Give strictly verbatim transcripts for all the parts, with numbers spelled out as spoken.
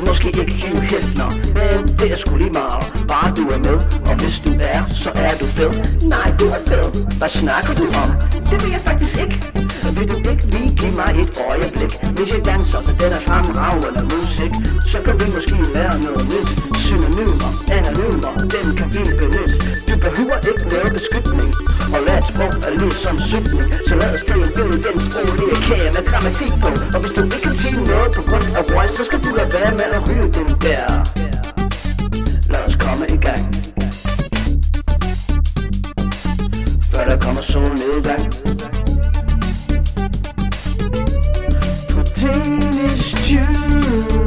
måske ikke helt hæftner, men det er sgu lige meget, bare du er med. Og hvis du er, så er du fed. Nej, du er fed. Hvad snakker du om? Det ved jeg faktisk ikke. Vil du ikke lige give mig et øjeblik? Hvis jeg danser til den er fremragende musik, så kan vi måske lære noget nyt. Synonymer, anonymer, dem kan vi benytte. Du behøver ikke lave beskytning, og lad et sprog er ligesom sygning. Så lad os tage en billede, den sproglige kage med grammatik på. Og hvis du ikke kan sige noget på grund af voice, så skal du lade være med at ryge den der. Lad os komme i gang, før der kommer sol nedgang. På Danish Tube.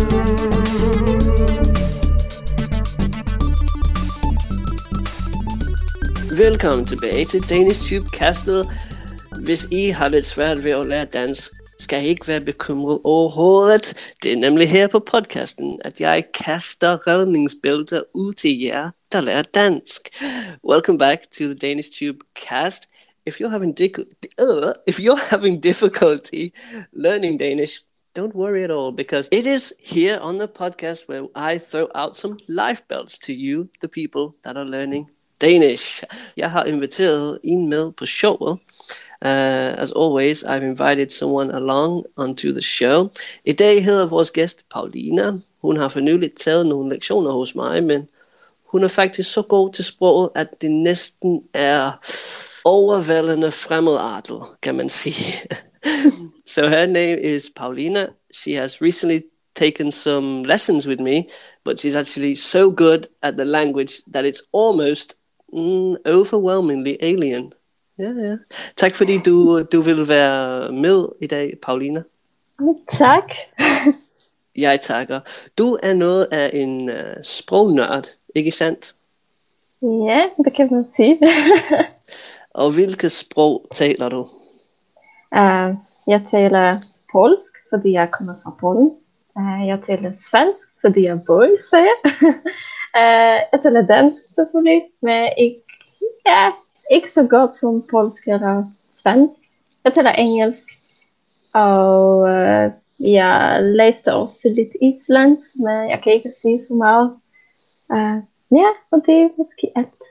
Velkommen tilbage til Danish Tube-kastet. Hvis I har lidt svært ved at lære dansk, skal I ikke være bekymret overhovedet. Det er nemlig her på podcasten, at jeg kaster redningsbælter ud til jer, der lærer dansk. Welcome back to the Danish Tube-cast. If you're having dic- uh, if you're having difficulty learning Danish, don't worry at all, because it is here on the podcast where I throw out some life belts to you, the people that are learning Danish. Jeg har inviteret en med på showet. Uh, as always, I've invited someone along onto the show. I dag hedder vores gæst Paulina. Hun har for nylig taget nogle lektioner hos mig, men hun er faktisk så god til sproget, at det næsten er overvældende fremmedartet, kan man sige. So her name is Paulina. She has recently taken some lessons with me, but she's actually so good at the language that it's almost mm, overwhelmingly alien. Ja, ja. Tak fordi du, du vil være med i dag, Paulina. Tak. Jeg takker. Du er noget af en uh, sprognørd, ikke sandt? Ja, det kan man sige. Og hvilket sprog taler du? Uh, jeg taler polsk, fordi jeg kommer fra Polen. Uh, jeg taler svensk, fordi jeg bor i Sverige. uh, jeg taler dansk selvfølgelig, men ikke, ja, ikke så godt som polsk eller svensk. Jeg taler engelsk, og uh, jeg læste også lidt islandsk, men jeg kan ikke sige så meget. Uh, ja, og det er måske alt.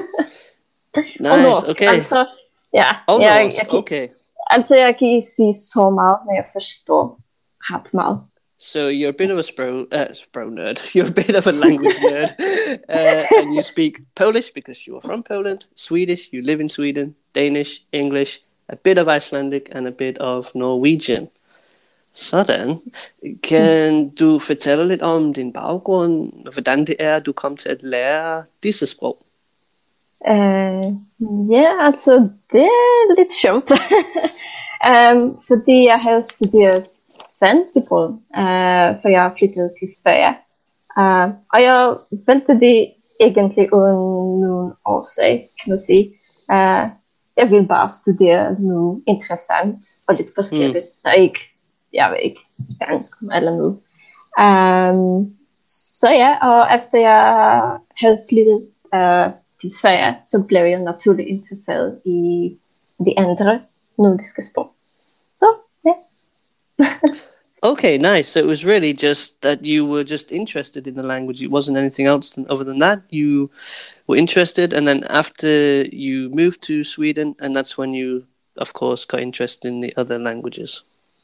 Nice, og norsk, okay. Altså, ja, og jeg, norsk, jeg, jeg, okay. Altså, jeg kan ikke sige så meget, men jeg forstår ret meget. So you're a bit of a spro, uh, spro nerd. You're a bit of a language nerd. Uh, and you speak Polish because you are from Poland, Swedish, you live in Sweden, Danish, English, a bit of Icelandic, and a bit of Norwegian. Sådan. Kan du fortælle lidt om din baggrund, og hvordan det er, du kom til at lære disse sprog? Uh, ja, altså, det er lidt sjovt. um, fordi jeg har studeret svensk i Polen, uh, for jeg flyttede til Sverige. Uh, og jeg valgte det egentlig uden nogen årsag, kan man sige. Uh, jeg vil bare studere noget interessant og lidt forskelligt, mm. så ikke, jeg ved ikke, spansk eller noget. Um, så ja, og efter jeg havde flyttet uh, til Sverige, så blev jeg naturligt interesseret i de andre nordiske sprog. Så, ja. Okay, nice. So it was really just that you were just interested in the language. It wasn't anything else than, other than that. You were interested, and then after you moved to Sweden, and that's when you, of course, got interested in the other languages.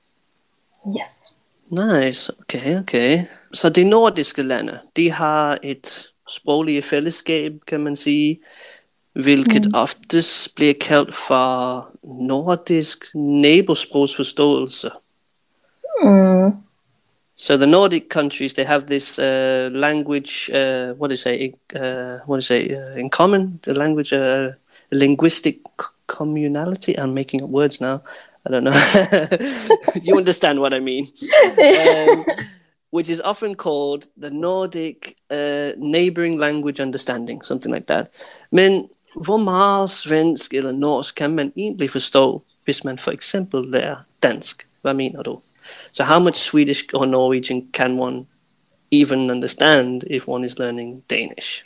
Yes. Nice. Okay, okay. Så de nordiske lande, de har et sproglige fællesskab, kan man sige, hvilket mm. oftest bliver kaldt for nordisk nabosprogsforståelse. Mm. So the Nordic countries, they have this uh, language, uh, what do you say, uh, what do you say, uh, in common, the language, uh, linguistic communality. I'm making up words now. I don't know. You understand what I mean. Um, which is often called the Nordic uh, Neighboring Language Understanding, something like that. Men hvor meget svensk eller norsk kan man egentlig forstå, hvis man for eksempel lærer dansk? Hvad mener du? So how much Swedish or Norwegian can one even understand if one is learning Danish?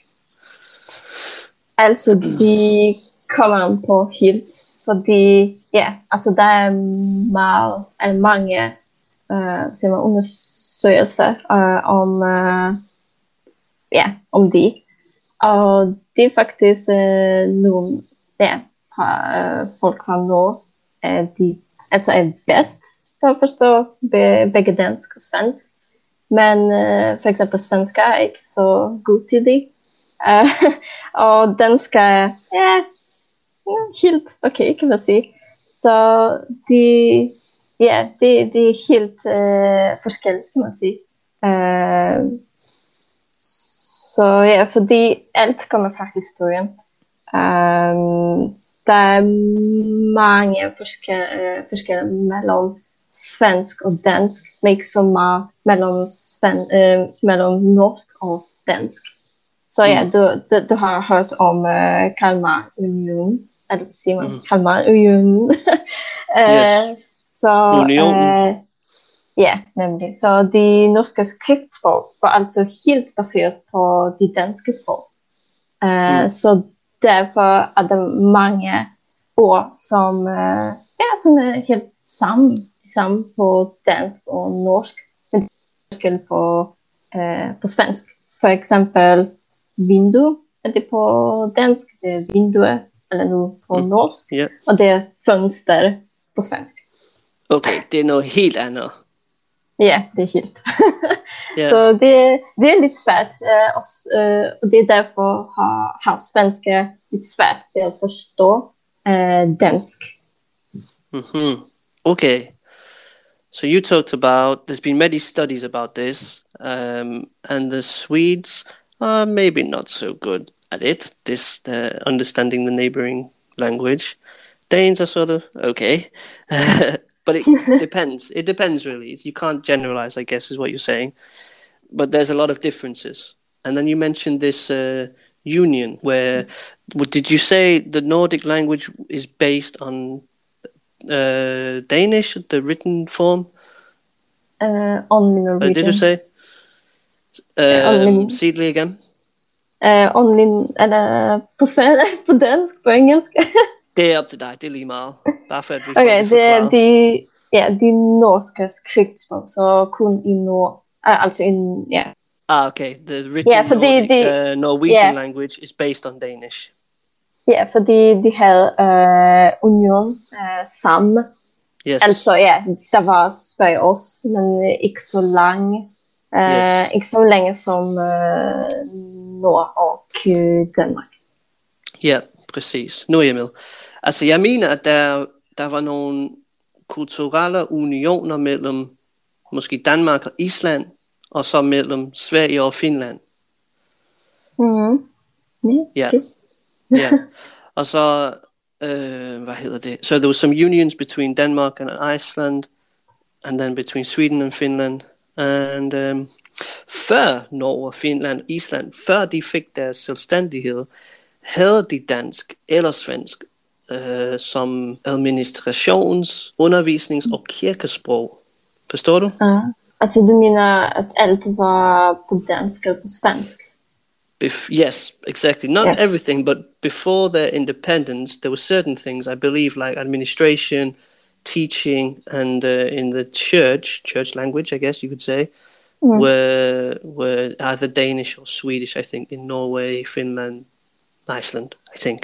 Altså, de kommer an på helt, fordi ja, altså der er meget, altså mange uh, siger man, undersøgelser uh, om, uh, ja, om det. Og det er faktisk uh, nogle, ja, fra uh, folk fra Norge, at de altså er bedst for at forstå be- begge dansk og svensk. Men uh, for eksempel svensker er ikke så god til det. Uh, og dansk er ja, helt okay, kan man sige. Så de, ja, det, det er helt uh, forskelligt, kan man sige. Uh, så ja, fordi alt kommer fra historien. Um, der er mange forskellige, forskellige mellem svensk og dansk, men ikke så meget mellem, sven, uh, mellem norsk og dansk. Så ja, mm. du, du, du har hørt om uh, Kalmarunionen, eller hvad siger man? Mm. Kalmarunionen. uh, yes. Så Unionen. Uh, ja, nemlig. Så de norske skriftsprog var altså helt baseret på de danske sprog. Uh, mm. Så derfor er der mange ord, som, uh, ja, som er helt samme, de samme på dansk og norsk, men det er forskel på, uh, på svensk. For eksempel vindue, er det på dansk, det er vinduer, eller nu på mm. norsk, yeah. og det er fönster på svensk. Okay, det er noget helt andet. Ja, det er helt. yeah. Så det, det er lidt svært, uh, og, uh, og det er derfor har, har svensker lidt svært til at forstå uh, dansk. Mm-hmm. Okay. So you talked about, there's been many studies about this, um, and the Swedes are maybe not so good at it, this uh, understanding the neighboring language. Danes are sort of okay. But it depends. It depends, really. You can't generalize, I guess, is what you're saying. But there's a lot of differences. And then you mentioned this uh, union where, what, did you say the Nordic language is based on uh, Danish, the written form? Uh, only Norwegian. Uh, did you say? Um, uh, only, Seedly again? Uh, only, eller på svensk, på dansk, på engelsk. Det er op til dig, det er lige meget. Bare for at vi får okay, det det er forklaret. de, ja, de norske skriftsprog, så kun i nord, altså i, ja. Ah, okay. The written ja, fordi Nordic, de, uh, Norwegian ja. language is based on Danish. Ja, fordi de havde uh, union uh, sammen. Yes. Altså ja, der var Sverige også, men uh, ikke så lange. Uh, yes. Ikke så længe som uh, Nord og uh, Danmark. Ja, præcis. Nu er jeg med. Altså, jeg mener, at der, der var nogle kulturelle unioner mellem måske Danmark og Island, og så mellem Sverige og Finland. Mm. Ja. Ja. Og så, øh, hvad hedder det? So there was some unions between Denmark and Iceland, and then between Sweden and Finland. And um, før Norge, Finland og Island, før de fik deres selvstændighed, havde de dansk eller svensk øh, som administrations-, undervisnings- og kirkesprog. Forstår du? Ja. Altså du mener, at alt var på dansk eller på svensk? Bef- yes, exactly. Not yeah. everything, but before their independence, there were certain things, I believe, like administration, teaching, and uh, in the church, church language, I guess you could say, mm. were were either Danish or Swedish, I think, in Norway, Finland, Iceland, I think.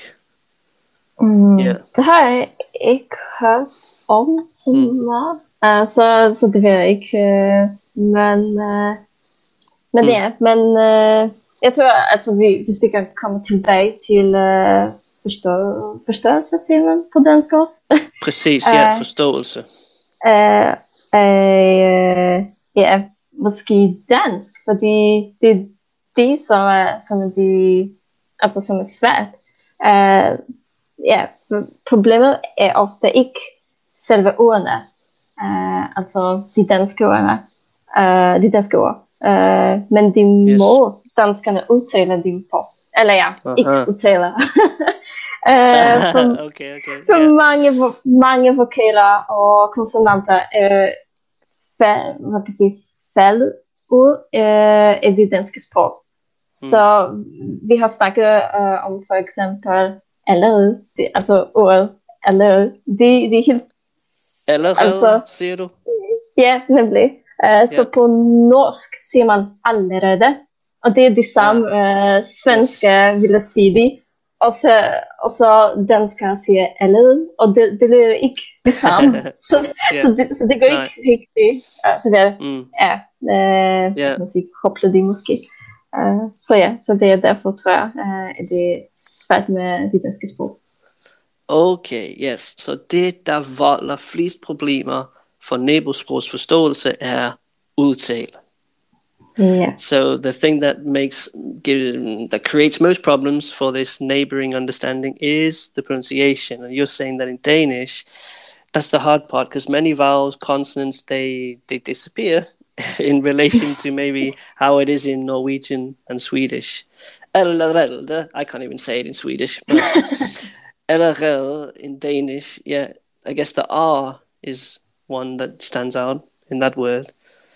Mm. Yeah. Det har jeg ikke hørt om så meget, mm. uh, så, så det ved jeg ikke, uh, men, uh, men mm. ja, men uh, jeg tror, altså vi, hvis vi kan komme tilbage til uh, forstå, forståelse, siger man på dansk også. Præcis, ja, forståelse. Uh, uh, ja, måske dansk, fordi det er det, som er, som er, de, altså, som er svært. Uh, ja, problemet er ofte ikke selve ordene, uh, altså de danske ordene, uh, de danske ord, uh, men de yes. må danskerne udtaler dem på. Eller ja, uh-huh. ikke udtaler. uh, for, okay, okay. for yeah. mange, mange vokaler og konsonanter er fald, hvad kan jeg sige, faldet ud uh, af det danske sprog. Mm. Så vi har snakket uh, om for eksempel allerede, det, altså ordet allerede, det, det er helt... Allerede, altså, siger du? Ja, nemlig. Uh, så Ja. på norsk siger man allerede, og det er det samme uh, svenske Yes. ville sige det. Og så, og så dansker siger allerede, og det, det er ikke det samme. så, Ja. så, det, så det går Nej. ikke rigtigt. Uh, det der, Mm. ja, uh, Ja. kan man sige, koble det måske. Uh, så ja, så det er derfor, tror jeg, uh, at det er svært med det danske sprog. Okay, yes. Så det, der volder flest problemer for næbosprogsforståelse, er udtale. Ja. So the thing that makes give, that creates most problems for this neighboring understanding is the pronunciation. And you're saying that in Danish, that's the hard part because many vowels, consonants, they they disappear in relation to maybe how it is in Norwegian and Swedish. I can't even say it in Swedish. But allerede in Danish, yeah, I guess the R is one that stands out in that word.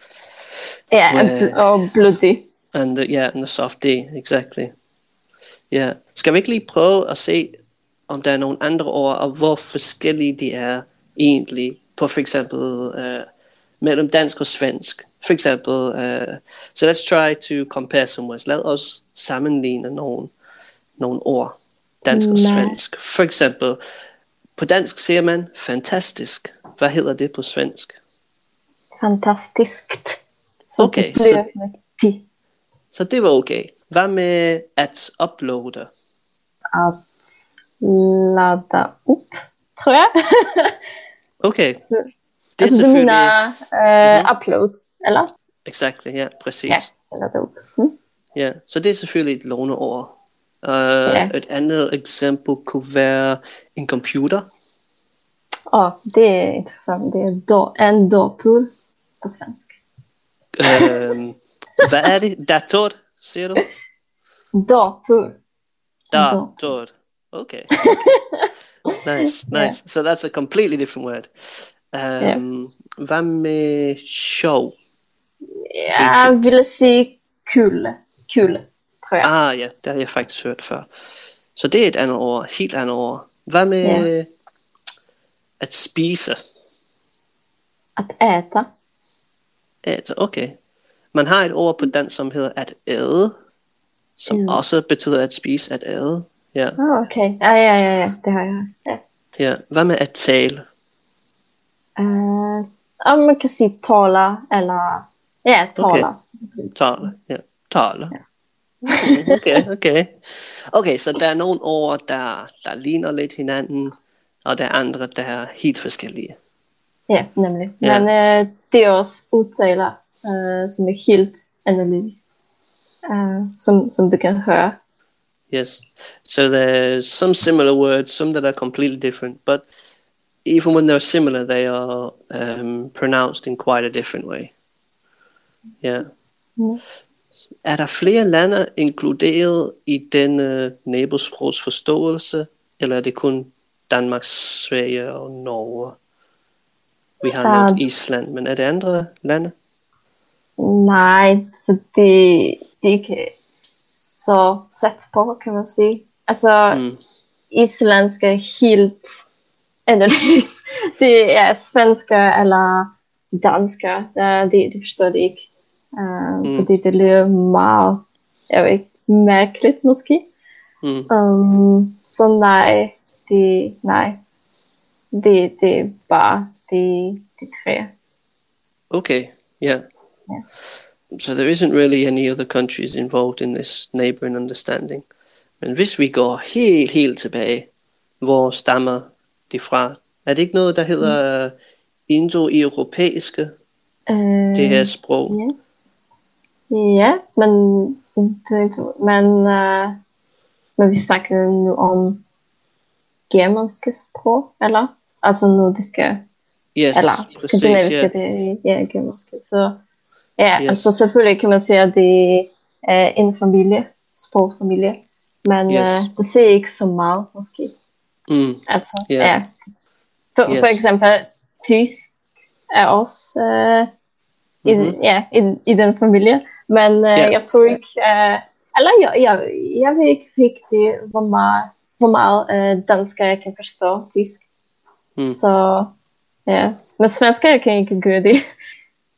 Ja, Where- og blodig. And the, yeah, and the soft D, exactly. Yeah. Skal vi ikke lige prøve at se, om der er nogle andre ord, og hvor forskellige de er egentlig, på for eksempel uh, mellem dansk og svensk. For eksempel, uh, so let's try to compare some words. Lad os sammenligne nogle, nogle ord, dansk og Nej. svensk. For eksempel, på dansk siger man fantastisk. Hvad hedder det på svensk? Fantastiskt. Så Okay, det bliver så- med de. Så det var okay. Hvad med at uploade? At ladda upp, tror jeg. Okay, så, det er altså, du selvfølgelig... mener uh, upload, eller? Exactly, ja, præcis. Ja, så ladda upp. Mm. Ja, så det er selvfølgelig et låneord. Uh, Ja. Et andet eksempel kunne være en computer. Åh, det er interessant. Det er do- en dator på svensk. Um, hvad er det? Dator, siger du? Dator. Dator. Okay. Nice, nice. Yeah. So that's a completely different word. Um, Hvad med sjov? Jeg ville sige kul. Kul, tror jeg. Ah ja, det har jeg faktisk hørt før. Så det er et andet ord, helt andet ord. Hvad med Ja. at spise? At äta. At, okay. Man har et ord på dansk, som hedder at æde, som Mm. også betyder at spise, at æde. Ja. Ah, okay. Ja, ja, ja, ja, det har jeg. Ja. Ja. Hvad med at tale? Uh, ja, man kan sige tala, eller... Ja, tala. Tale. Ja. Tale. Okay, okay. Okay, så der er nogle ord, der, der ligner lidt hinanden, og der er andre, der er helt forskellige. Ja, nemlig. Ja. Men uh, det er også udtaler, uh, som er helt anderledes. Uh, som, som du kan høre. Yes. So there's some similar words, some that are completely different, but even when they're similar, they are um, pronounced in quite a different way. Yeah. Mm. Er der flere lande inkluderet i denne næbosprogsforståelse, eller er det kun Danmark, Sverige og Norge? Vi har Der- nævnt Island, men er det andre lande? Nej, fordi det er ikke så tæt på, kan man sige. Altså, Mm. islandsk er helt anderledes. Det er svensker eller dansker, der, det, det forstår det ikke. Uh, Mm. Fordi det lyder meget, jeg ved ikke, mærkeligt måske. Mm. Um, så nej, det, nej. Det, det er bare de, de tre. Okay, yeah. Yeah. So there isn't really any other countries involved in this neighboring understanding. Men hvis vi går helt, helt tilbage, hvor stammer det fra? Er det ikke noget, der hedder uh, indo-europæiske, Uh, det her sprog? Ja, ja, men ikke, men, uh, men vi snakker nu om germanske sprog, eller? Altså nordiske, Yes, eller præcis, skandinaviske, ja. det ja, germanske. Så ja, Yes. altså selvfølgelig kan man sige, at det er en familie, sprogfamilie, men Yes. uh, det ser ikke så meget måske. Mm. Altså, Ja. ja. For, Yes. for eksempel, tysk er også uh, i, Mhm. ja, i, i den familie. Men uh, Ja. jeg tror ikke, uh, eller jeg, jeg, jeg ved ikke rigtig, hvor meget, hvor meget uh, dansker jeg kan forstå tysk. Mm. Så ja, men svensker jeg kan ikke gøre det.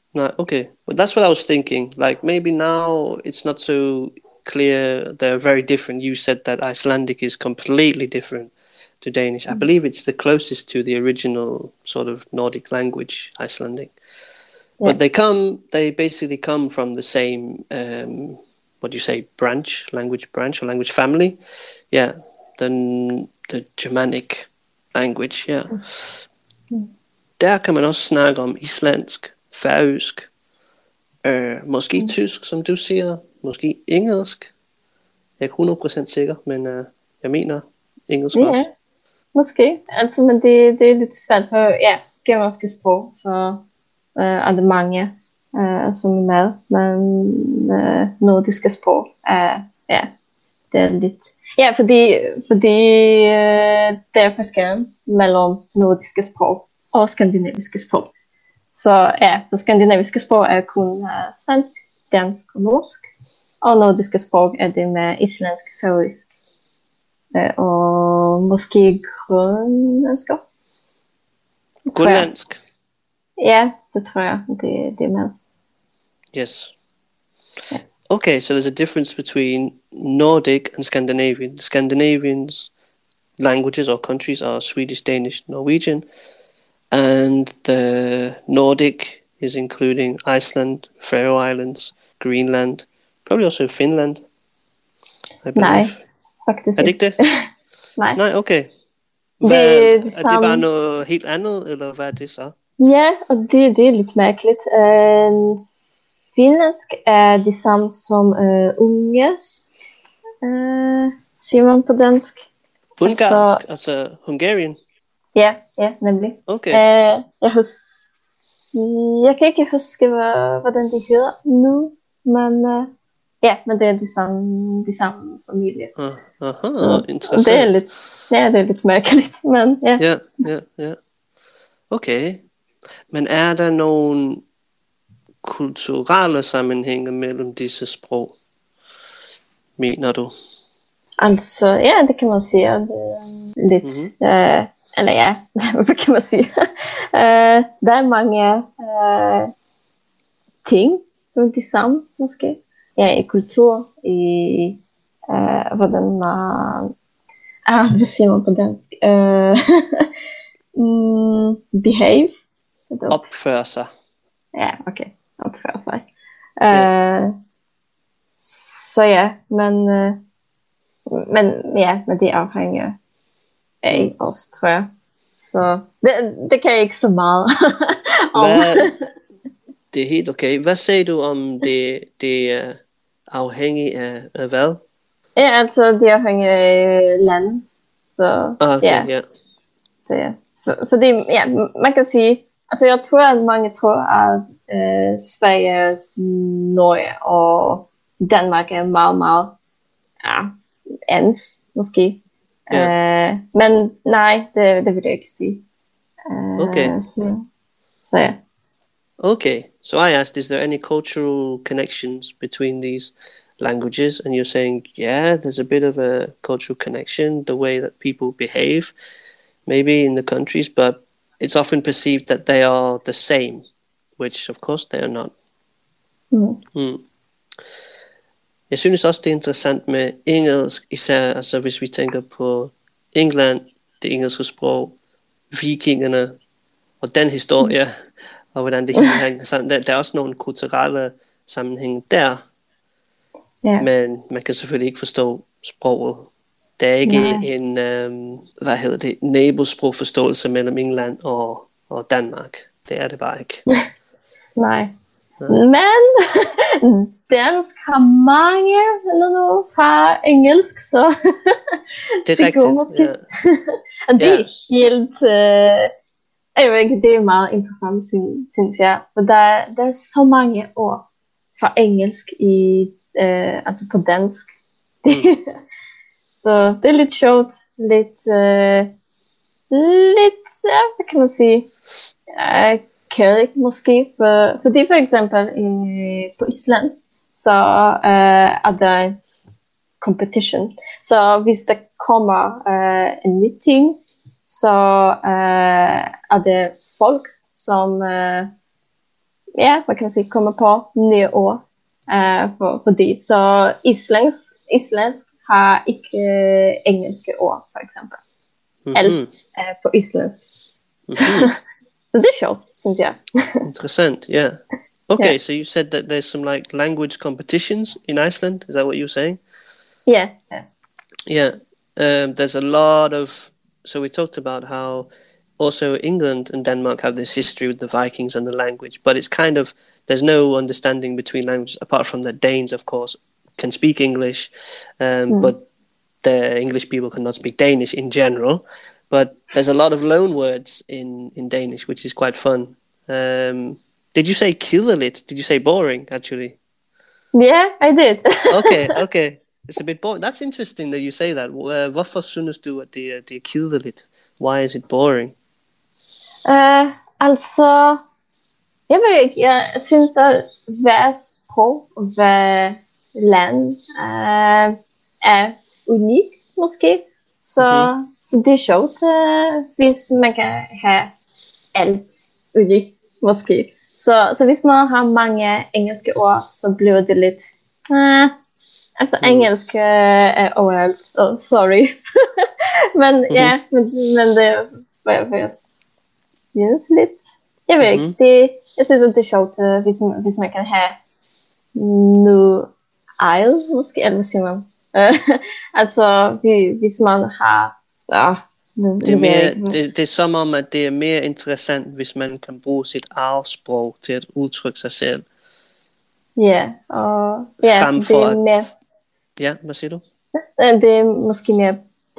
No, okay. Well, that's what I was thinking. Like maybe now it's not so clear. They're very different. You said that Icelandic is completely different to Danish. I believe it's the closest to the original sort of Nordic language, Icelandic. Yeah. But they come, they basically come from the same, um, what do you say, branch, language branch or language family. Yeah, the, the Germanic language, yeah. Mm. Der kan man også snakke om islandsk, færøsk, øh, måske Mm. tysk, som du siger, måske engelsk. Jeg er ikke hundrede procent sikker, men øh, jeg mener engelsk Ja, også. måske. Altså, men det, det er lidt svært på, ja, germanske sprog, så øh, er det mange, øh, som er med, men øh, nordiske sprog er, ja, det er lidt, ja, fordi, fordi øh, der er forskel mellem nordiske sprog og skandinaviske sprog. Så ja, for skandinaviske sprog er kun uh, svensk, dansk og norsk, og nordiske sprog er det med islandsk, færøsk, uh, og måske grønlandsk også. Det tror jeg. Grønlandsk. Ja, det tror jeg, det, det er med. Yes. Yeah. Okay, so there's a difference between Nordic and Scandinavian. The Scandinavians languages or countries are Swedish, Danish, Norwegian, and the Nordic is including Iceland, Faroe Islands, Greenland, probably also Finland, I believe. Nej, faktisk Er det ikke det? Nej. Nej, okay. Det Hvad, er det er det samme. bare noget helt andet, eller hvad er det så? Ja, og det, det er lidt mærkeligt. Uh, finlandsk er det samme som uh, ungersk, uh, siger man på dansk. Ungarsk, Altså- altså Hungarian? Ja, ja, nemlig. Okay. Uh, jeg, hus... jeg kan ikke huske, hvad, hvordan det hedder nu, men uh, ja, men det er de samme, de samme familie. Ah, aha, Så interessant. det er lidt, ja, det er lidt mærkeligt, men ja. Ja, ja, ja. Okay. Men er der nogle kulturelle sammenhænge mellem disse sprog, mener du? Altså, ja, det kan man sige. Det er lidt, Mhm. øh, eller ja, hvad kan man sige? øh, der er mange øh, ting, som er de samme, måske. Ja, i kultur, i øh, hvordan man... Ah, hvad siger man på dansk? Øh, mm, behave. Opføre sig. Ja, okay. Opføre sig. Øh, så ja, men... Øh, Men ja, men det afhænger af os, tror jeg. Så det, det kan jeg ikke så meget om. Hvad, det er helt okay. Hvad sagde du om det, det er afhængigt af, af hvad? Ja, altså det afhænger af land. Så Ah, okay, ja, ja. så ja. Så, så det, ja, man kan sige, altså jeg tror, at mange tror, at øh, Sverige, Norge og Danmark er meget, meget, ja, ens, måske. Ja. Uh, men nej, det, det vil jeg ikke sige. Uh, Okay. Så, så ja. Okay, so I asked, is there any cultural connections between these languages? And you're saying, yeah, there's a bit of a cultural connection, the way that people behave, maybe in the countries, but it's often perceived that they are the same, which of course they are not. Mm. Mm. Jeg synes også, det er interessant med engelsk, især altså, hvis vi tænker på England, det engelske sprog, vikingerne og den historie, mm. og hvordan det hele hænger sammen. Der, der er også nogle kulturelle sammenhænge der, Ja. men man kan selvfølgelig ikke forstå sproget. Der er ikke Nej. en, øhm, hvad hedder det, nabosprogforståelse mellem England og, og Danmark. Det er det bare ikke. Nej. Nej. Men dansk har mange eller noget fra engelsk, så Det er det går rigtigt. måske. Ja. Og det Ja. er helt... Øh, jeg ved ikke, det er meget interessant, syn- synes jeg. For der, der er så mange ord fra engelsk i, øh, altså på dansk. Det, så det er lidt sjovt. Lidt, øh, lidt, ja, hvad kan man sige? Øh, kærligt måske. For, fordi for eksempel øh, på Island, så øh, er der competition. Så hvis der kommer øh, en ny ting, så øh, er det folk, som øh, ja, hvad kan man sige, kommer på nye ord uh, for, for det. Så islandsk, islandsk har ikke uh, engelske ord, for eksempel. Mm-hmm. Alt er på islandsk. Mm-hmm. Så det er sjovt, synes jeg. Interessant, yeah. Okay, yeah. so you said that there's some like language competitions in Iceland. Is that what you're saying? Yeah. Yeah. Yeah. Um, there's a lot of... So we talked about how also England and Denmark have this history with the Vikings and the language, but it's kind of... There's no understanding between languages, apart from the Danes, of course, can speak English, um, mm. but the English people cannot speak Danish in general. But there's a lot of loan words in, in Danish, which is quite fun. Um, did you say kedeligt? Did you say boring, actually? Yeah, I did. okay, okay. It's a bit boring. That's interesting that you say that. Uh, hvorfor synes du, at det er, det er kedeligt? Why is it boring? Uh, altså, jeg ved ikke. Jeg synes, at hver sprog og hver land uh, er unik, måske. Så, mm-hmm. så det er sjovt, uh, hvis man kan have alt unikt, måske. Så, så hvis man har mange engelske ord, så bliver det lidt... Uh, altså, mm. engelsk uh, er overalt. Oh, sorry. men mm-hmm. ja, men, men det er, hvad, hvad jeg synes lidt... Jeg ved mm-hmm. ikke, det, jeg synes, at det er sjovt, uh, hvis, hvis man kan have nu ejl, måske, eller hvad siger man? altså, hvis man har... Ja, det, er mere, det, det er som om, at det er mere interessant, hvis man kan bruge sit eget sprog til at udtrykke sig selv. Ja, og ja, så det er mere... At... Ja, hvad siger du? Det er måske mere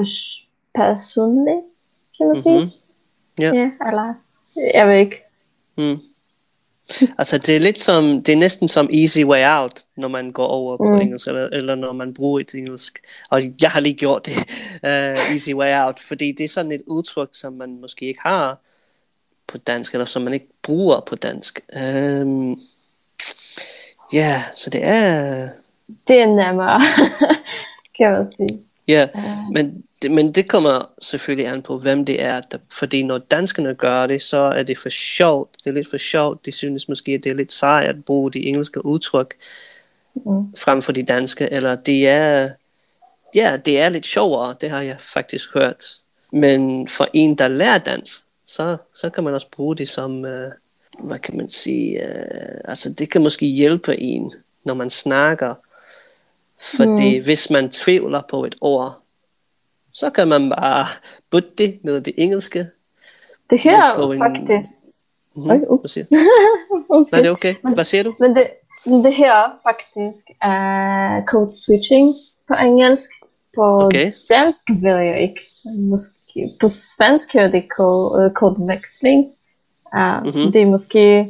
personligt, kan man sige. Mm-hmm. Ja. ja, eller... Jeg ved ikke. Mm. Altså det er lidt som, det er næsten som easy way out, når man går over på mm. engelsk, eller, eller når man bruger et engelsk. Og jeg har lige gjort det, uh, easy way out, fordi det er sådan et udtryk, som man måske ikke har på dansk, eller som man ikke bruger på dansk. Um, ja, yeah, så det er... Det er nemmere, kan man sige. Ja, uh. men, det, men det kommer selvfølgelig an på, hvem det er. Der, fordi når danskerne gør det, så er det for sjovt. Det er lidt for sjovt. De synes måske, at det er lidt sejt at bruge de engelske udtryk mm. frem for de danske. Eller det er, ja, det er lidt sjovere. Det har jeg faktisk hørt. Men for en, der lærer dansk, så, så kan man også bruge det som, uh, hvad kan man sige, uh, altså det kan måske hjælpe en, når man snakker. Fordi mm. hvis man tvivler på et ord, så kan man bare putte det med det engelske. Det her en... faktisk... Mm-hmm. Oj, Hvad siger du? Nej, det er okay. Hvad siger du? Men det, det her faktisk er code switching på engelsk. På okay. dansk ved jeg ikke. Måske, på svensk er det code, codeveksling. Uh, mm-hmm. Så det er måske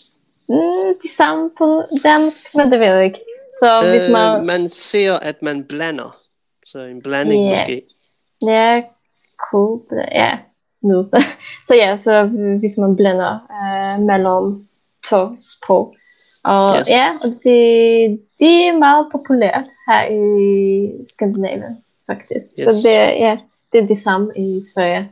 mm, det samme på dansk, men det ved jeg ikke. Så øh, hvis man... man ser, at man blander. Så en blanding yeah. måske. Ja, cool. Ja, nu. så ja, så hvis man blander uh, mellem to sprog. Og yes. ja, og det, det er meget populært her i Skandinavien, faktisk. Yes. Så det, ja, det er det samme i Sverige.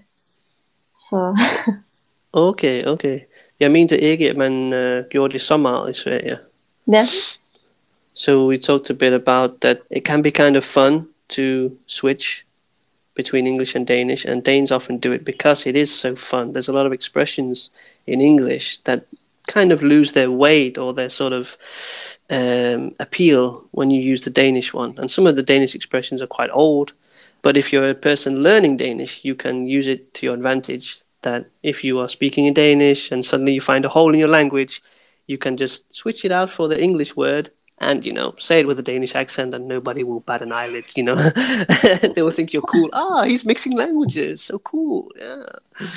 Så... okay, okay. Jeg mente ikke, at man uh, gjorde det så meget i Sverige. Ja. Yeah. So we talked a bit about that it can be kind of fun to switch between English and Danish, and Danes often do it because it is so fun. There's a lot of expressions in English that kind of lose their weight or their sort of um, appeal when you use the Danish one. And some of the Danish expressions are quite old, but if you're a person learning Danish, you can use it to your advantage. That if you are speaking in Danish and suddenly you find a hole in your language, you can just switch it out for the English word and, you know, say it with a Danish accent and nobody will bat an eyelid, you know. They will think you're cool. Ah, he's mixing languages. So cool. Yeah.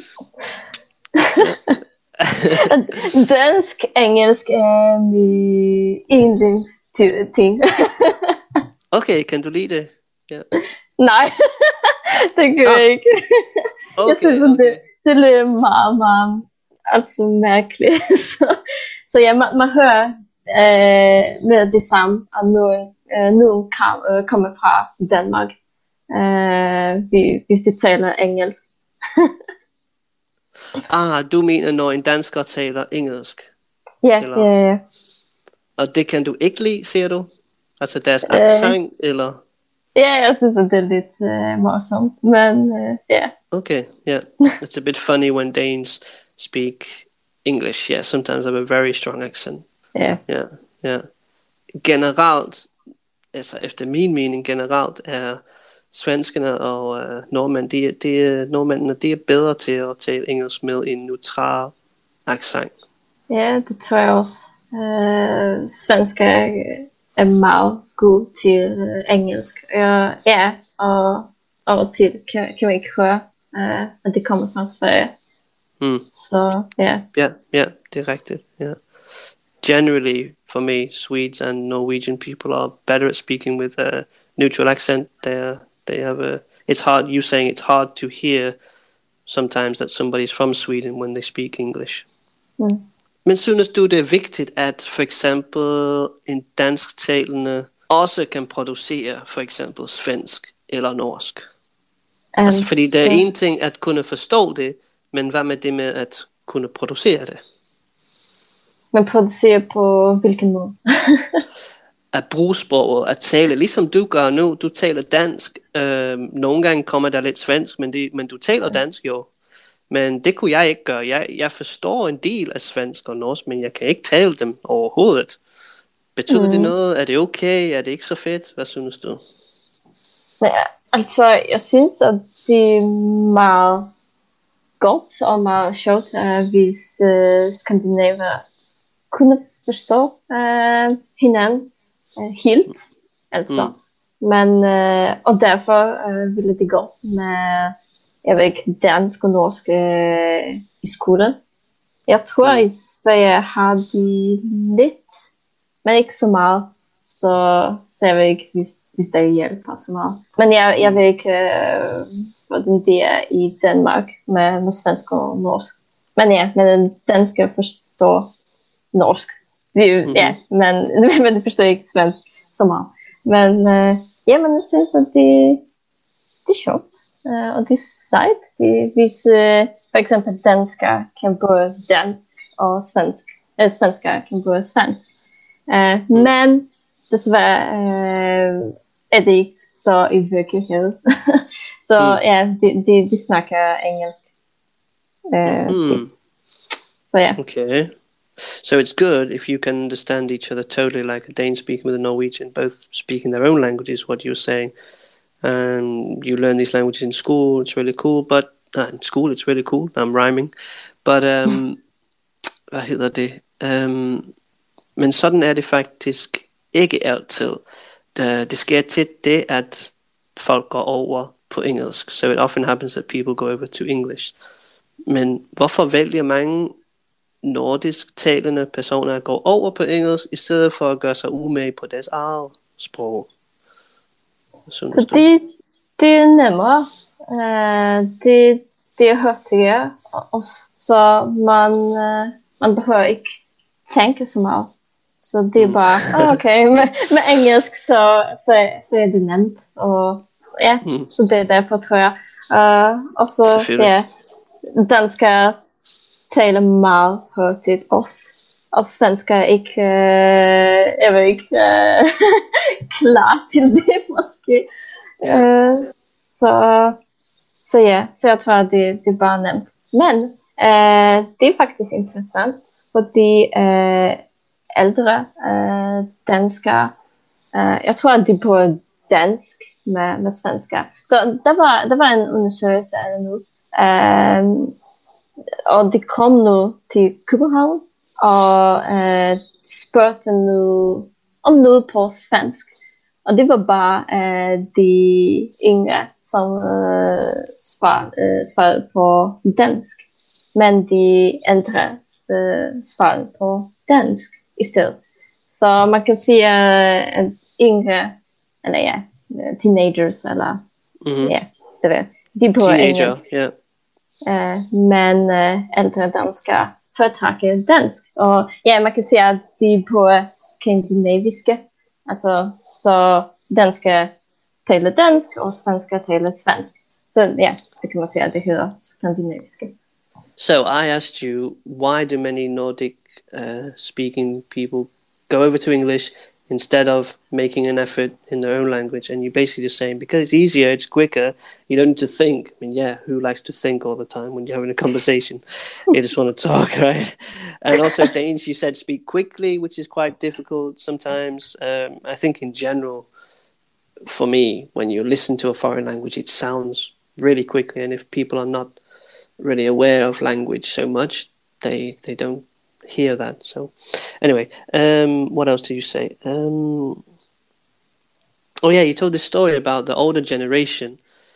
yeah. Dansk, engelsk er min yndlingsting. Okay, kan du lide det? Yeah. Nej, det gør jeg ikke. Okay, jeg synes, okay. det, det lyder meget, meget altså mærkeligt. så, så ja, man, man hører øh, med det samme, og nu, øh, nu kom, øh, kommer fra Danmark, øh, hvis de taler engelsk. Ah, du mener, når en dansker taler engelsk? Ja, eller? ja, ja. Og det kan du ikke lide, siger du? Altså deres accent, uh, eller? Ja, jeg synes, at det er lidt uh, morsomt, men ja. Uh, yeah. Okay, yeah. It's a bit funny when Danes speak English. Yeah, sometimes they have a very strong accent. Yeah. Yeah, yeah. Generelt, altså efter min mening generelt, er svenskerne og uh, nordmænd, de, de, nordmændene, de er bedre til at tale engelsk med en neutral accent. Ja, det tror jeg også. Uh, svensker er meget god til uh, engelsk. Uh, ja, og og til kan, kan man ikke høre, uh, at det kommer fra Sverige. Mm. Så ja. Ja, ja, det er rigtigt. Ja. Generally, for me, Swedes and Norwegian people are better at speaking with a neutral accent. They are, they have a. It's hard. You saying it's hard to hear sometimes that somebody's from Sweden when they speak English. Mm. Men synes du, det er vigtigt, at for eksempel en dansktalende også kan producere for eksempel svensk eller norsk? Altså, altså fordi det er en ting at kunne forstå det, men hvad med det med at kunne producere det? Man producerer på hvilken måde? At bruge sproget, at tale, ligesom du gør nu. Du taler dansk. Øh, nogle gange kommer der lidt svensk, men, det, men du taler dansk jo. Men det kunne jeg ikke gøre. Jeg, jeg forstår en del af svensk og norsk, men jeg kan ikke tale dem overhovedet. Betyder mm. det noget? Er det okay? Er det ikke så fedt? Hvad synes du? Ja, altså, jeg synes, at det er meget godt og meget sjovt, uh, hvis uh, skandinaver kunne forstå uh, hinanden uh, helt. Altså. Mm. Men, uh, og derfor uh, ville det gå med jeg ved ikke, dansk og norsk uh, i skole. Jeg tror, mm. i Sverige har de lidt, men ikke så meget. Så, så jeg ved ikke, hvis, hvis der hjælper så meget. Men jeg, jeg ved ikke, uh, hvordan det er i Danmark med, med svensk og norsk. Men ja, men danskere forstår norsk. Det, mm-hmm. Ja, men, men det forstår ikke svensk så meget. Men uh, ja, men jeg synes, at det, det er sjovt. Uh, og det er sejt. Det, hvis uh, for eksempel danskere kan både dansk og svensk. Eller svenskere kan både svensk. Uh, mm. Men desværre uh, er det ikke så i virkeligheden. så mm. ja, de, de, de snakker engelsk. Uh, mm. Så ja. Okay. So it's good if you can understand each other totally, like a Dane speaking with a Norwegian, both speaking their own languages, what you're saying. And you learn these languages in school, it's really cool, but uh, in school it's really cool, I'm rhyming. But, um, hvad hedder det? Um, men sådan er det faktisk ikke altid. Det, det sker tit det, at folk går over på engelsk. So it often happens that people go over to English. Men hvorfor vælger mange nordisk talende personer at gå over på engelsk, i stedet for at gøre sig umage på deres eget sprog? Fordi det er nemmere. Uh, det, det er hurtigere, og så man, uh, man behøver ikke tænke så meget. Så det er bare, oh, okay, med, med engelsk, så, så, så er det nemt. Og ja, mm. så det er derfor, tror jeg. Uh, og så, ja, danskere taler meget hurtigt også. Og svensker er ikke, øh, jeg ved ikke, øh, klar til det måske. Ja. Øh, så, så ja, så jeg tror, det, det er bare nemt. Men øh, det er faktisk interessant, fordi øh, ældre øh, danskere, øh, jeg tror, at de på dansk med, med svensker. Så der var, der var en undersøgelse af det nu. Øh, og det kom nu til København. Og øh, spurgte nu om noget på svensk. Og det var bare øh, de yngre, som øh, svarede, øh, svarede på dansk. Men de ældre øh, svarede på dansk i stedet. Så man kan sige, at øh, yngre, eller ja, teenagers, eller mm-hmm. ja, det ved de er på Teenager, engelsk. Yeah. Øh, men øh, ældre danskere foretrækker dansk. Og ja, man kan sige, at de er på skandinaviske. Altså, så danskere taler dansk, og svensker taler svensk. Så ja, det kan man sige, at det hedder skandinaviske. So I asked you, why do many Nordic uh, speaking people go over to English instead of making an effort in their own language. And you're basically just saying, because it's easier, it's quicker, you don't need to think. I mean, yeah, who likes to think all the time when you're having a conversation? You just want to talk, right? And also Danish, you said speak quickly, which is quite difficult sometimes. Um, I think in general, for me, when you listen to a foreign language, it sounds really quickly. And if people are not really aware of language so much, they they don't hear that. So anyway, um what else did you say? Um oh yeah, you told this story about the older generation,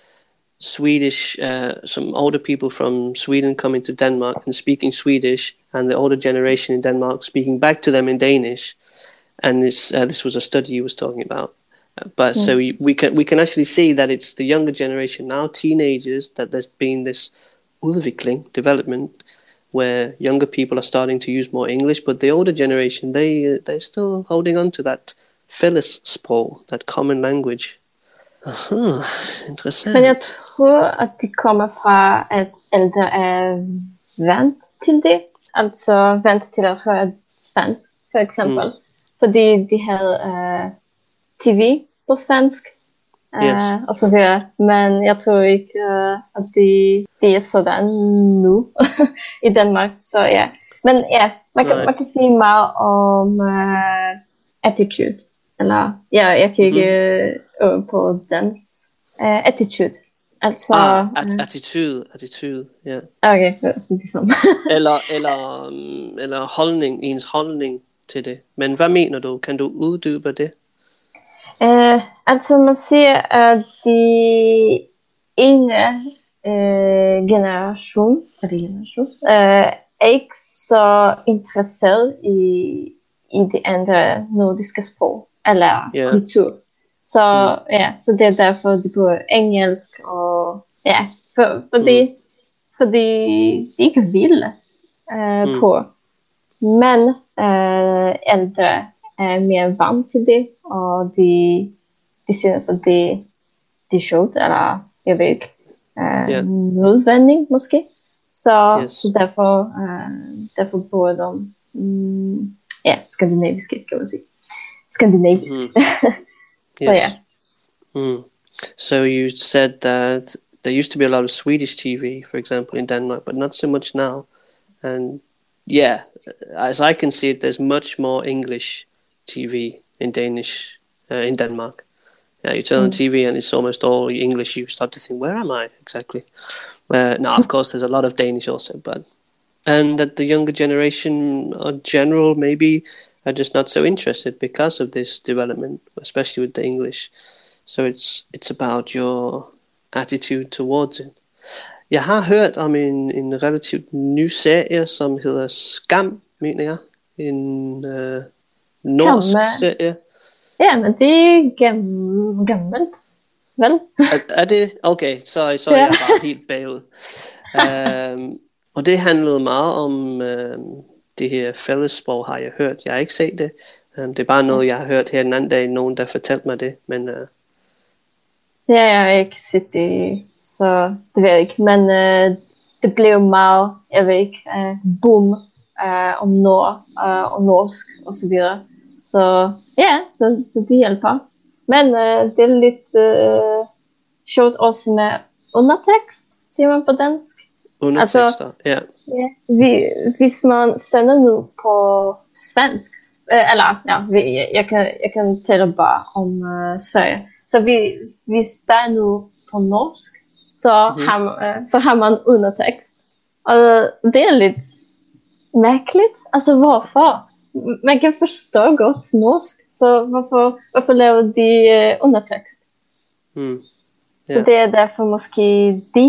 Swedish, uh some older people from Sweden coming to Denmark and speaking Swedish, and the older generation in Denmark speaking back to them in Danish. And this uh, this was a study you was talking about. Uh, but mm. so we, we can we can actually see that it's the younger generation now, teenagers, that there's been this udvikling development where younger people are starting to use more English, but the older generation, they uh, they're still holding on to that fællessprog, that common language. Aha, interessant. Men jeg tror, at de kommer fra, at ældre er vant til det. Altså vant til at høre svensk, for eksempel. Mm. Fordi de havde uh, T V på svensk. Uh, yes. Og så videre. Men jeg tror ikke, uh, at det de er sådan nu i Danmark. Så ja. Men ja, man kan, man kan sige meget om uh, attitude. Eller, ja, jeg kan ikke mm-hmm. øve på dans. Uh, attitude. Altså... Ah, at- uh, attitude, attitude, ja. Yeah. Okay, så det samme. eller, eller, um, eller holdning, ens holdning til det. Men hvad mener du? Kan du uddybe det? Uh, altså man siger, at de yngre uh, generation, er det generation uh, er ikke så interesseret i, i de andre nordiske sprog eller yeah. kultur. Så mm. ja, så det er derfor de bruger engelsk og ja, for, fordi mm. fordi de ikke vil uh, mm. på. Men uh, ældre er mere vant til det, og de, de synes, at det, det er sjovt, eller jeg ved ikke, uh, yeah. nødvendigt måske. Så, yes. så derfor, uh, derfor bruger de um, ja, skandinaviske, kan man sige. Skandinavisk. Mm. so yes. yeah. Mm. So you said that there used to be a lot of Swedish T V, for example, in Denmark, but not so much now. And yeah, as I can see it, there's much more English T V in Danish, uh, in Denmark. Yeah, you turn mm. on T V and it's almost all English. You start to think, where am I exactly? Uh, now, of course, there's a lot of Danish also, but and that the younger generation, in general, maybe are just not so interested because of this development, especially with the English. So it's it's about your attitude towards it. Jeg har hørt om en, en relativt ny serie, som hedder Skam, mener jeg. En øh, norsk serie. Ja, men det er gam- gammelt, vel? er, er det? Okay, så, så er jeg bare helt bagud. um, og det handlede meget om um, det her fællessprog, har jeg hørt. Jeg har ikke set det. Um, det er bare noget, jeg har hørt her den anden dag, nogen der fortalte mig det. Men, uh... ja, jeg har ikke set det, så det ved jeg ikke. Men uh, det blev meget, jeg ved ikke, uh, boom uh, om nord uh, og norsk og så videre. Så ja, så, så de hjælper. Men uh, det er lidt uh, sjovt også med undertekst, siger man på dansk. Undertekster, altså, ja. ja vi, hvis man sender nu på svensk, uh, eller ja, vi, jeg, jeg, kan, jeg kan tale bare om uh, Sverige. Så vi, hvis der er nu på norsk, så, mm-hmm. har, uh, så har man undertekst. Og det er lidt mærkeligt. Altså hvorfor? Man kan forstå godt norsk, så hvorfor, hvorfor laver de uh, undertekst? Mm. Yeah. Så det er derfor måske de,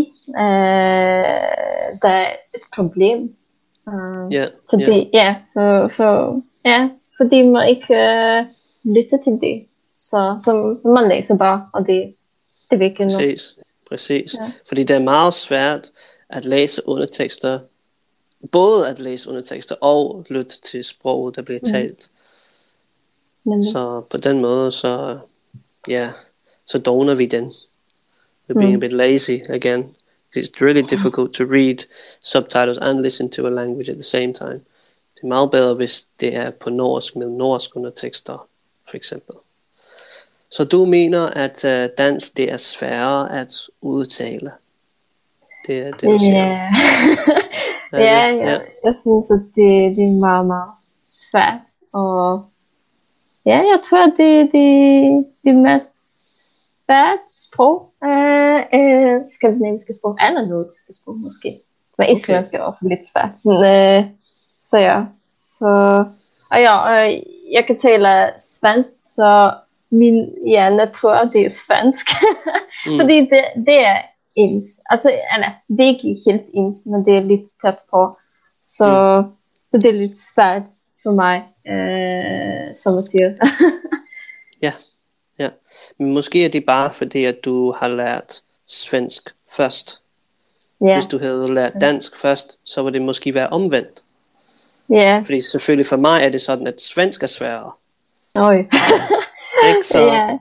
uh, der er et problem. Uh, yeah. Fordi, yeah. ja, for, for, ja, fordi man ikke uh, lytter til det. Så, så man læser bare, og det, det vil ikke noget. Præcis, præcis. Ja. Fordi det er meget svært at læse undertekster, både at læse undertekster og lytte til sproget, der bliver talt. Mm. Så på den måde, så ja, så doner vi den. We're being mm. a bit lazy again. It's really difficult to read subtitles and listen to a language at the same time. Det er meget bedre, hvis det er på norsk med norsk undertekster, for eksempel. Så du mener, at uh, dansk det er sværere at udtale? Det er det, du siger? Yeah. ja, ja, ja, jeg synes, at det, det er meget, meget svært. Og ja, jeg tror, at det, det, det er mest svært sprog. Uh, uh, skandinaviske sprog, eller nordiske sprog måske. Men islandsk er også lidt svært. Men, uh, så ja, så... Og ja, og jeg kan tale svensk, så min hjerne tror, det er svensk. mm. Fordi det, det er ens. Altså, eller, det er ikke helt ens, men det er lidt tæt på. Så, mm. så det er lidt svært for mig, øh, som at sige. ja, ja. Men måske er det bare fordi, at du har lært svensk først. Yeah. Hvis du havde lært dansk først, så ville det måske være omvendt. Ja. Yeah. Fordi selvfølgelig for mig er det sådan, at svensk er sværere. Oj. Ikke så? Ja.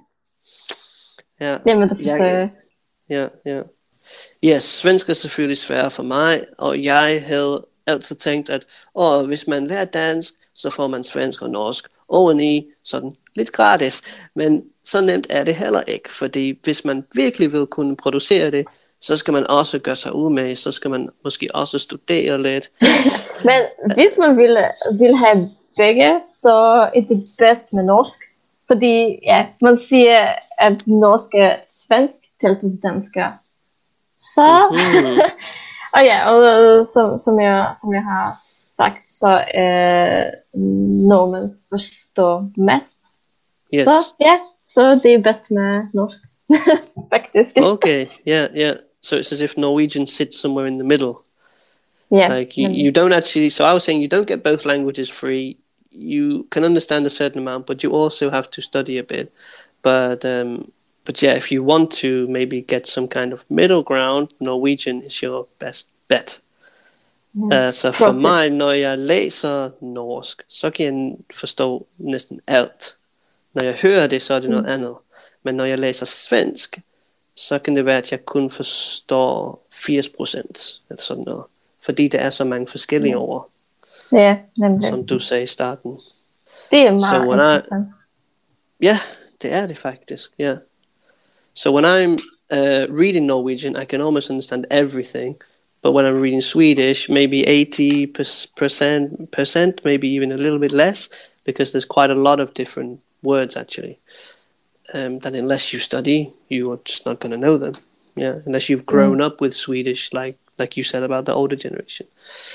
Ja. Jamen, det forstår jeg. Ja, ja. Ja, svensk er selvfølgelig sværere for mig, og jeg havde altid tænkt, at åh, hvis man lærer dansk, så får man svensk og norsk oveni, sådan lidt gratis. Men så nemt er det heller ikke, fordi hvis man virkelig vil kunne producere det, så skal man også gøre sig umage, så skal man måske også studere lidt. Men hvis man vil, vil have begge, så er det bedst med norsk. Fordi ja, man siger, at norsk er svensk talt til dansk. Så, mm-hmm. og ja, og som, som, jeg, som jeg har sagt, så er øh, normen forstår mest. Yes. Så ja, så det er bedst med norsk, faktisk. Okay, yeah, yeah. So it's as if Norwegian sits somewhere in the middle. Yeah. Like you, you don't actually, so I was saying you don't get both languages free. You can understand a certain amount, but you also have to study a bit. But um, but yeah, if you want to maybe get some kind of middle ground, Norwegian is your best bet. Yeah. Uh, så for Probably. mig, når jeg læser norsk, så kan jeg forstå næsten alt. Når jeg hører det, så er det noget mm. andet. Men når jeg læser svensk, så kan det være, at jeg kun forstår firs procent eller sådan noget. Fordi der er så mange forskellige yeah. ord. Ja, nemlig. Som du sagde i starten. Det er meget so interessant. Ja, yeah, det er det faktisk. Yeah. So when I'm uh, reading Norwegian, I can almost understand everything. But when I'm reading Swedish, maybe eighty percent, percent, maybe even a little bit less, because there's quite a lot of different words actually. Um, that unless you study, you are just not going to know them. Yeah, unless you've grown mm. up with Swedish, like like you said about the older generation.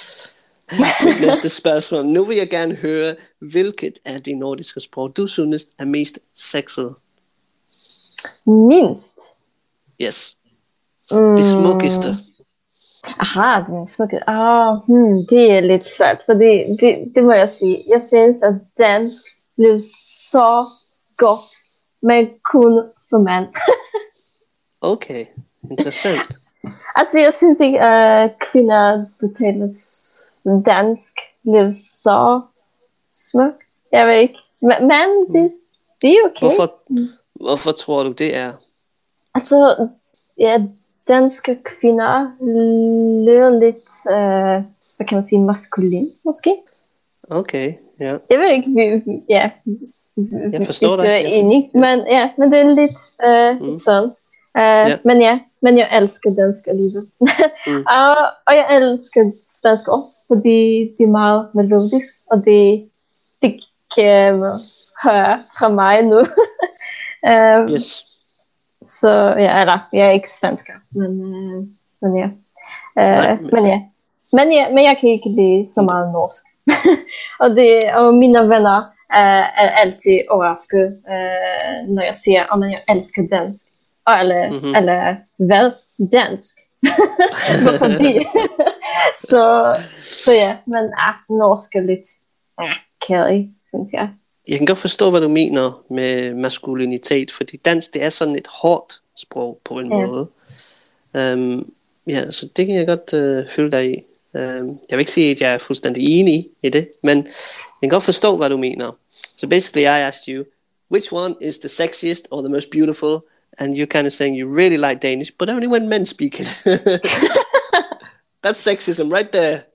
Næste spørgsmål. Nu vil jeg gerne høre, hvilket af de nordiske sprog, du synes er mest sexet? Minst? Yes. Mm. Det smukkeste. Aha, det smukkeste. Ah, hmm, det er lidt svært, fordi det, det må jeg sige. Jeg synes, at dansk blev så godt, men kun for mand. Okay, interessant. Altså, jeg synes ikke, at uh, kvinder, der taler dansk, blev så smukt. Jeg ved ikke. Men, men det, det er okay. Hvorfor, hvorfor tror du, det er? Altså, ja, danske kvinder lyder lidt, uh, hvad kan man sige, maskulin, måske? Okay, ja. Yeah. Jeg ved ikke, vi, ja, jeg forstår hvis dig. du er enig, men, ja, men det er lidt, uh, mm. lidt sådan. Uh, yeah. Men ja, men jeg elsker dansk alligevel. mm. og, og jeg elsker svensk også, fordi det er meget melodisk, og det, det kan man høre fra mig nu. uh, yes. Så ja, eller, jeg er ikke svensker, men, uh, men ja. Uh, Nej, men... men ja. Men ja, men jeg kan ikke lide så meget norsk. og, det, og mine venner uh, er altid overrasket, uh, når jeg siger, at oh, jeg elsker dansk. Eller, mm-hmm. eller hvad? Dansk. Hvorfor det? så, så ja, men ah, norsk er lidt ah, kærig, synes jeg. Jeg kan godt forstå, hvad du mener med maskulinitet, fordi dansk, det er sådan et hårdt sprog på en ja. måde. Um, ja, så det kan jeg godt uh, følge dig i. Um, jeg vil ikke sige, at jeg er fuldstændig enig i det, men jeg kan godt forstå, hvad du mener. So basically, I asked you, which one is the sexiest or the most beautiful? And you're kind of saying you really like Danish, but only when men speak it. That's sexism right there.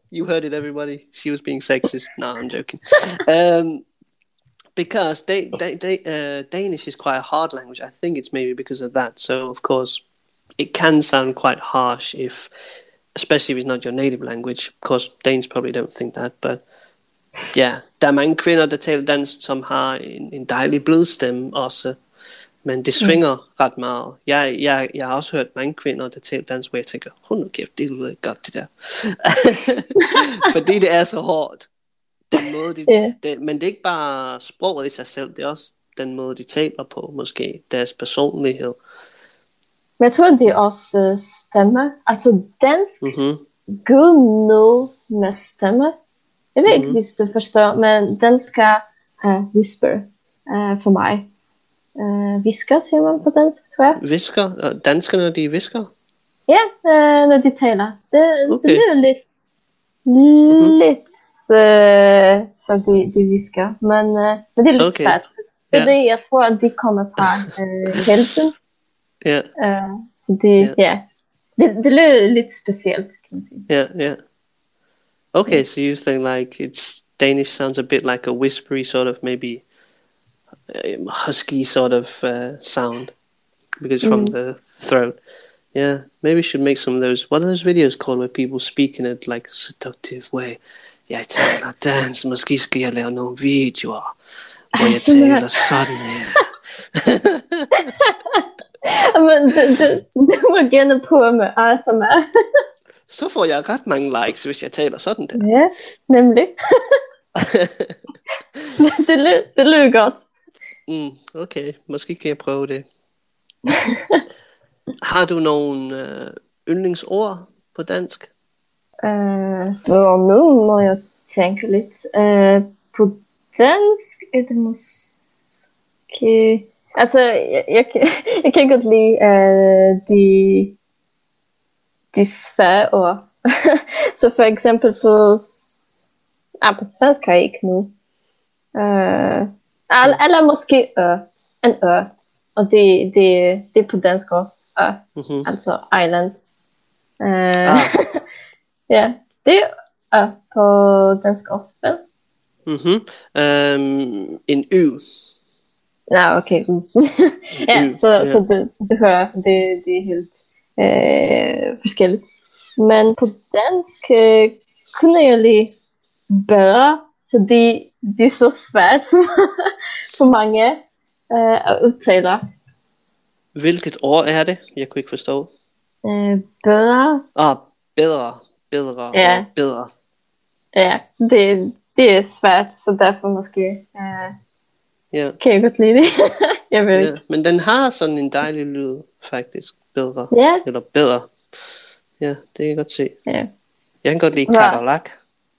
You heard it, everybody. She was being sexist. No, I'm joking. Um, because they, they, they, uh, Danish is quite a hard language. I think it's maybe because of that. So, of course, it can sound quite harsh if, especially if it's not your native language. Of course, Danes probably don't think that, but ja, der er mange kvinder, der taler dansk, som har en, en dejlig blødstemme også, men det svinger mm. ret meget. Jeg, jeg, jeg har også hørt mange kvinder, der taler dansk, hvor jeg tænker, hold nu kæft, det lyder godt det der. Fordi det er så hårdt. Den måde, de, yeah. det, men det er ikke bare sproget i sig selv, det er også den måde, de taler på, måske deres personlighed. Men jeg tror, det er også uh, stemme. Altså dansk mm-hmm. går noget med stemme. Jeg ved ikke, mm-hmm. hvis du forstår, men dansk er uh, whisper uh, for mig. Uh, visker, siger man på dansk, tror jeg. Visker? Danskerne, de visker? Ja, uh, når de taler. Det, okay. det lyder lidt, mm-hmm. lidt uh, som de, de visker, men, uh, men det er lidt okay. svært. Fordi yeah. jeg tror, at de kommer fra uh, helsen. Yeah. Uh, så det, yeah. yeah. det, det lyder lidt specielt, kan man sige. Ja, yeah, ja. Yeah. Okay, so you think like it's Danish sounds a bit like a whispery sort of maybe um, husky sort of uh, sound because mm. from the throat. Yeah, maybe we should make some of those. What are those videos called where people speak in a like seductive way? Jeg taler dans, måske skal jeg lave nogle videoer, hvor jeg taler sådan her. Men du, du, du må gerne prøve med A S M R. Så får jeg ret mange likes, hvis jeg taler sådan der. Ja, nemlig. det, lød, det lød godt. Mm, okay, måske kan jeg prøve det. Har du nogle øh, yndlingsord på dansk? Uh, nu må jeg tænke lidt. Uh, på dansk er det måske... Altså, jeg, jeg, jeg kan godt lide uh, de... de svære ord. Så for eksempel på, ah, på svensk har jeg ikke nu. Uh, eller måske ø, en ø. Og det, det, det er på dansk også. Ø. Mm-hmm. Altså island. Uh, ah. Ja, det er ø på dansk også, vel? Mhm. Um, en ø. Nå, okay. ja, så, yeah. så, det, så det hører det, det er helt Øh, forskelligt. Men på dansk øh, kunne jeg lige bedre, fordi det er så svært for, for mange øh, at udtale. Hvilket ord er det? Jeg kunne ikke forstå. Øh, bedre. Ah, bedre. Bedre. Ja. Bedre. Ja, det, det er svært, så derfor måske øh, yeah. kan jeg godt lide det. jeg ved yeah. ikke. Men den har sådan en dejlig lyd, faktisk. Bedre. Ja. Eller bedre. Ja, det kan jeg godt se. Ja. Jeg kan godt lide kakerlak.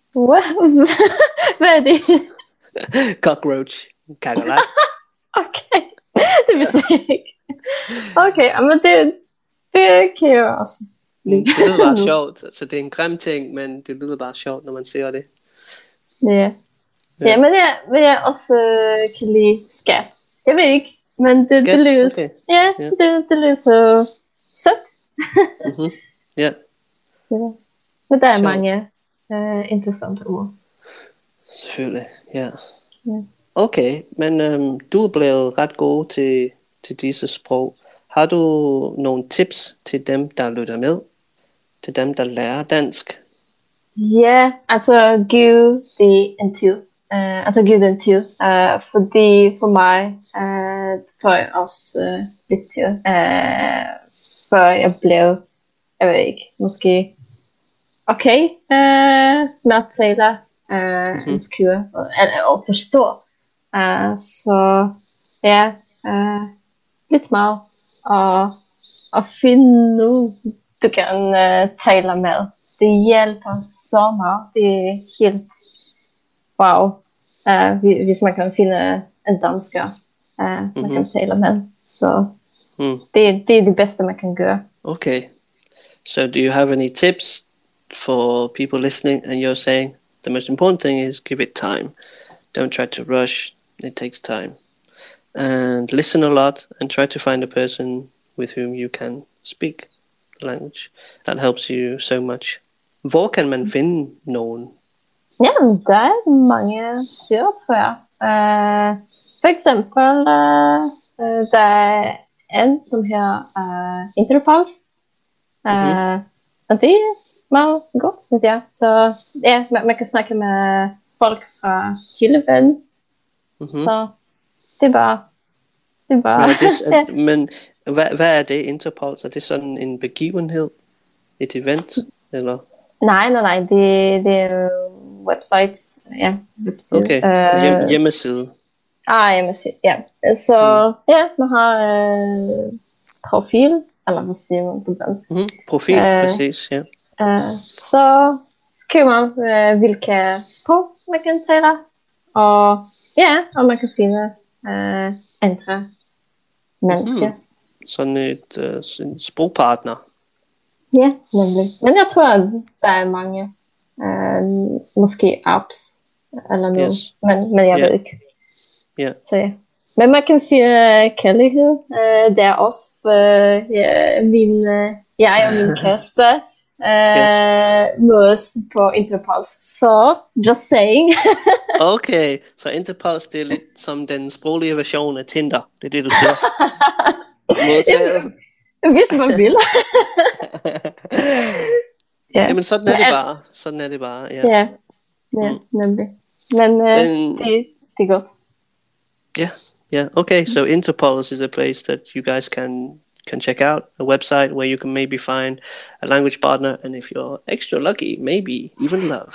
Hvad er det? Cockroach. Kakerlak. Okay. Det vidste jeg ikke. Okay, men det, det kan jeg også lide. Det lyder bare sjovt. Så det er en grim ting, men det lyder bare sjovt, når man ser det. Ja. Ja, ja men, jeg, men jeg også øh, kan lide skat. Jeg ved ikke, men det, det lyder okay. Ja, yeah. det, det lyder så sødt. mm-hmm. yeah. Ja. Men der er så mange uh, interessante ord. Selvfølgelig, ja. ja. Okay, men um, du er blevet ret god til, til disse sprog. Har du nogle tips til dem, der lytter med? Til dem, der lærer dansk? Ja, altså giv det en tid. Uh, altså giv det en tid. Uh, fordi for mig, uh, det tror jeg også uh, lidt til. Uh, før jeg blev, jeg ved ikke, måske okay uh, med at tale, uh, mm-hmm. skrive og, og forstå. Uh, så ja, uh, lidt meget. Og, og finde nu, du kan uh, tale med. Det hjælper så meget. Det er helt wow. Uh, hvis man kan finde en dansker, uh, mm-hmm. man kan tale med. Så mm. det, det er det bedste, man kan gøre. Okay. So do you have any tips for people listening? And you're saying the most important thing is give it time. Don't try to rush. It takes time. And listen a lot and try to find a person with whom you can speak the language. That helps you so much Hvor kan man finde nogen? Ja, der er mange sider, tror jeg. Uh, for eksempel, uh, uh, der er en, som her uh, Interpulse. Uh, mm-hmm. Og det er meget godt, synes jeg. Så ja, man, man kan snakke med folk fra hele verden. Mm-hmm. Så det er bare... Det er bare... Men, er det, er, men hvad, hvad er det, Interpulse? Er det sådan en begivenhed? Et event? Eller? Nej, nej, nej. Det, det er website. Ja, website. Okay, Hjem, hjemmeside. Ah, hjemmeside, ja. Så mm. ja, man har øh, profil, eller hvad siger man på dansk? Mm, profil, øh, præcis, ja. Øh, så skriver man, øh, hvilke sprog man kan tale, og ja, og man kan finde øh, andre mennesker. Mm. Sådan et øh, en sprogpartner. Ja, nemlig. Men jeg tror, at der er mange, øh, måske apps, eller noget, yes. men, men jeg yeah. ved ikke. Yeah. Så ja. Men man kan finde kærlighed. Uh, det er også for ja, min, uh, jeg og min kæreste uh, yes. mødes på Interpulse. Så, just saying. Okay, så Interpulse, det er lidt som den sproglige version af Tinder. Det er det, du siger. Hvis man vil. Ja. Jamen, sådan er det bare. Sådan er det bare, ja. Ja, ja mm. nemlig. Men uh, den... det, det er godt. Yeah, yeah. Okay, so Interpulse is a place that you guys can can check out, a website where you can maybe find a language partner, and if you're extra lucky, maybe even love.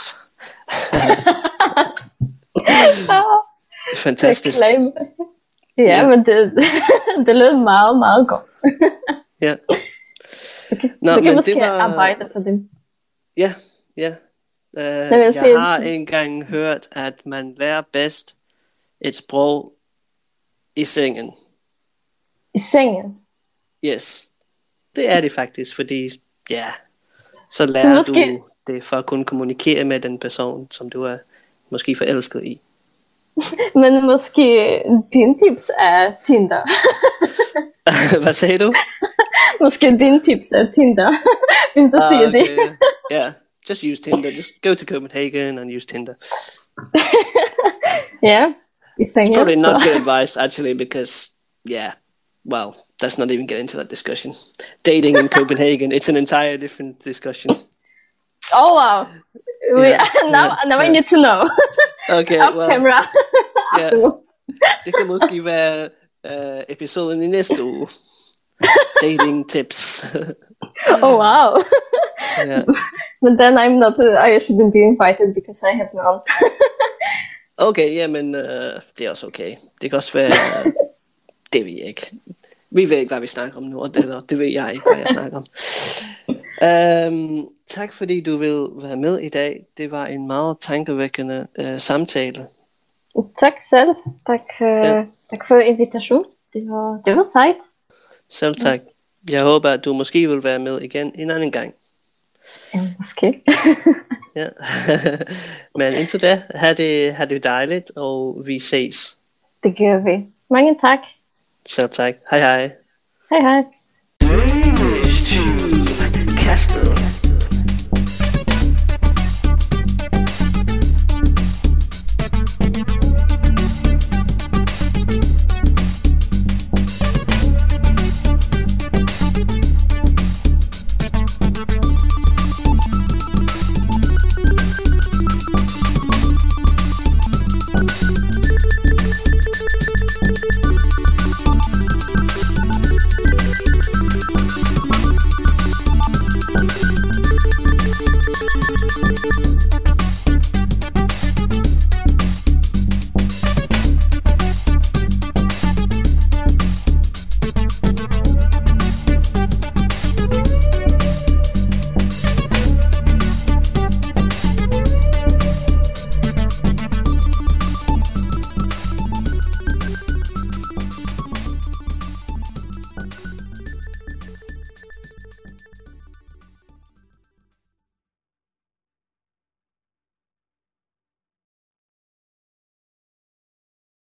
Fantastisk. Ja, yeah, men det, det lyder meget, meget godt. Ja. Okay. Nå, du kan måske var... arbejde for dem. Ja, ja. Uh, jeg sige... har engang hørt, at man lærer bedst et sprog i sengen. I sengen? Yes. Det er det faktisk, fordi ja, så lærer så måske... du det for at kunne kommunikere med den person, som du er måske forelsket i. Men måske din tips er Tinder. Hvad sagde du? Måske din tips er Tinder, hvis du ah, siger okay. det. Yeah, just use Tinder. Just go to Copenhagen and use Tinder. Yeah. It's probably not good advice, actually, because, yeah, well, let's not even get into that discussion. Dating in Copenhagen, it's an entire different discussion. Oh, wow. Yeah, now yeah, now yeah. I need to know. Okay, off well, camera. Yeah. Det kan måske være uh, episoden i næste uge. Dating tips. Oh, wow. Yeah. But then I'm not, uh, I shouldn't be invited because I have none. Okay, jamen, øh, det er også okay. Det kan også være, øh, det ved jeg ikke. Vi ved ikke, hvad vi snakker om nu, og det, det ved jeg ikke, hvad jeg snakker om. Um, tak fordi du vil være med i dag. Det var en meget tankevækkende øh, samtale. Tak selv. Tak, øh, ja. tak for invitationen. Det var, det var sejt. Selv tak. Jeg håber, at du måske vil være med igen en anden gang. Ja, måske. Ja. Men indtil da, have det, have det dejligt, og vi ses. Det gør vi. Mange tak. Selv tak. Hej hej. Hej hej.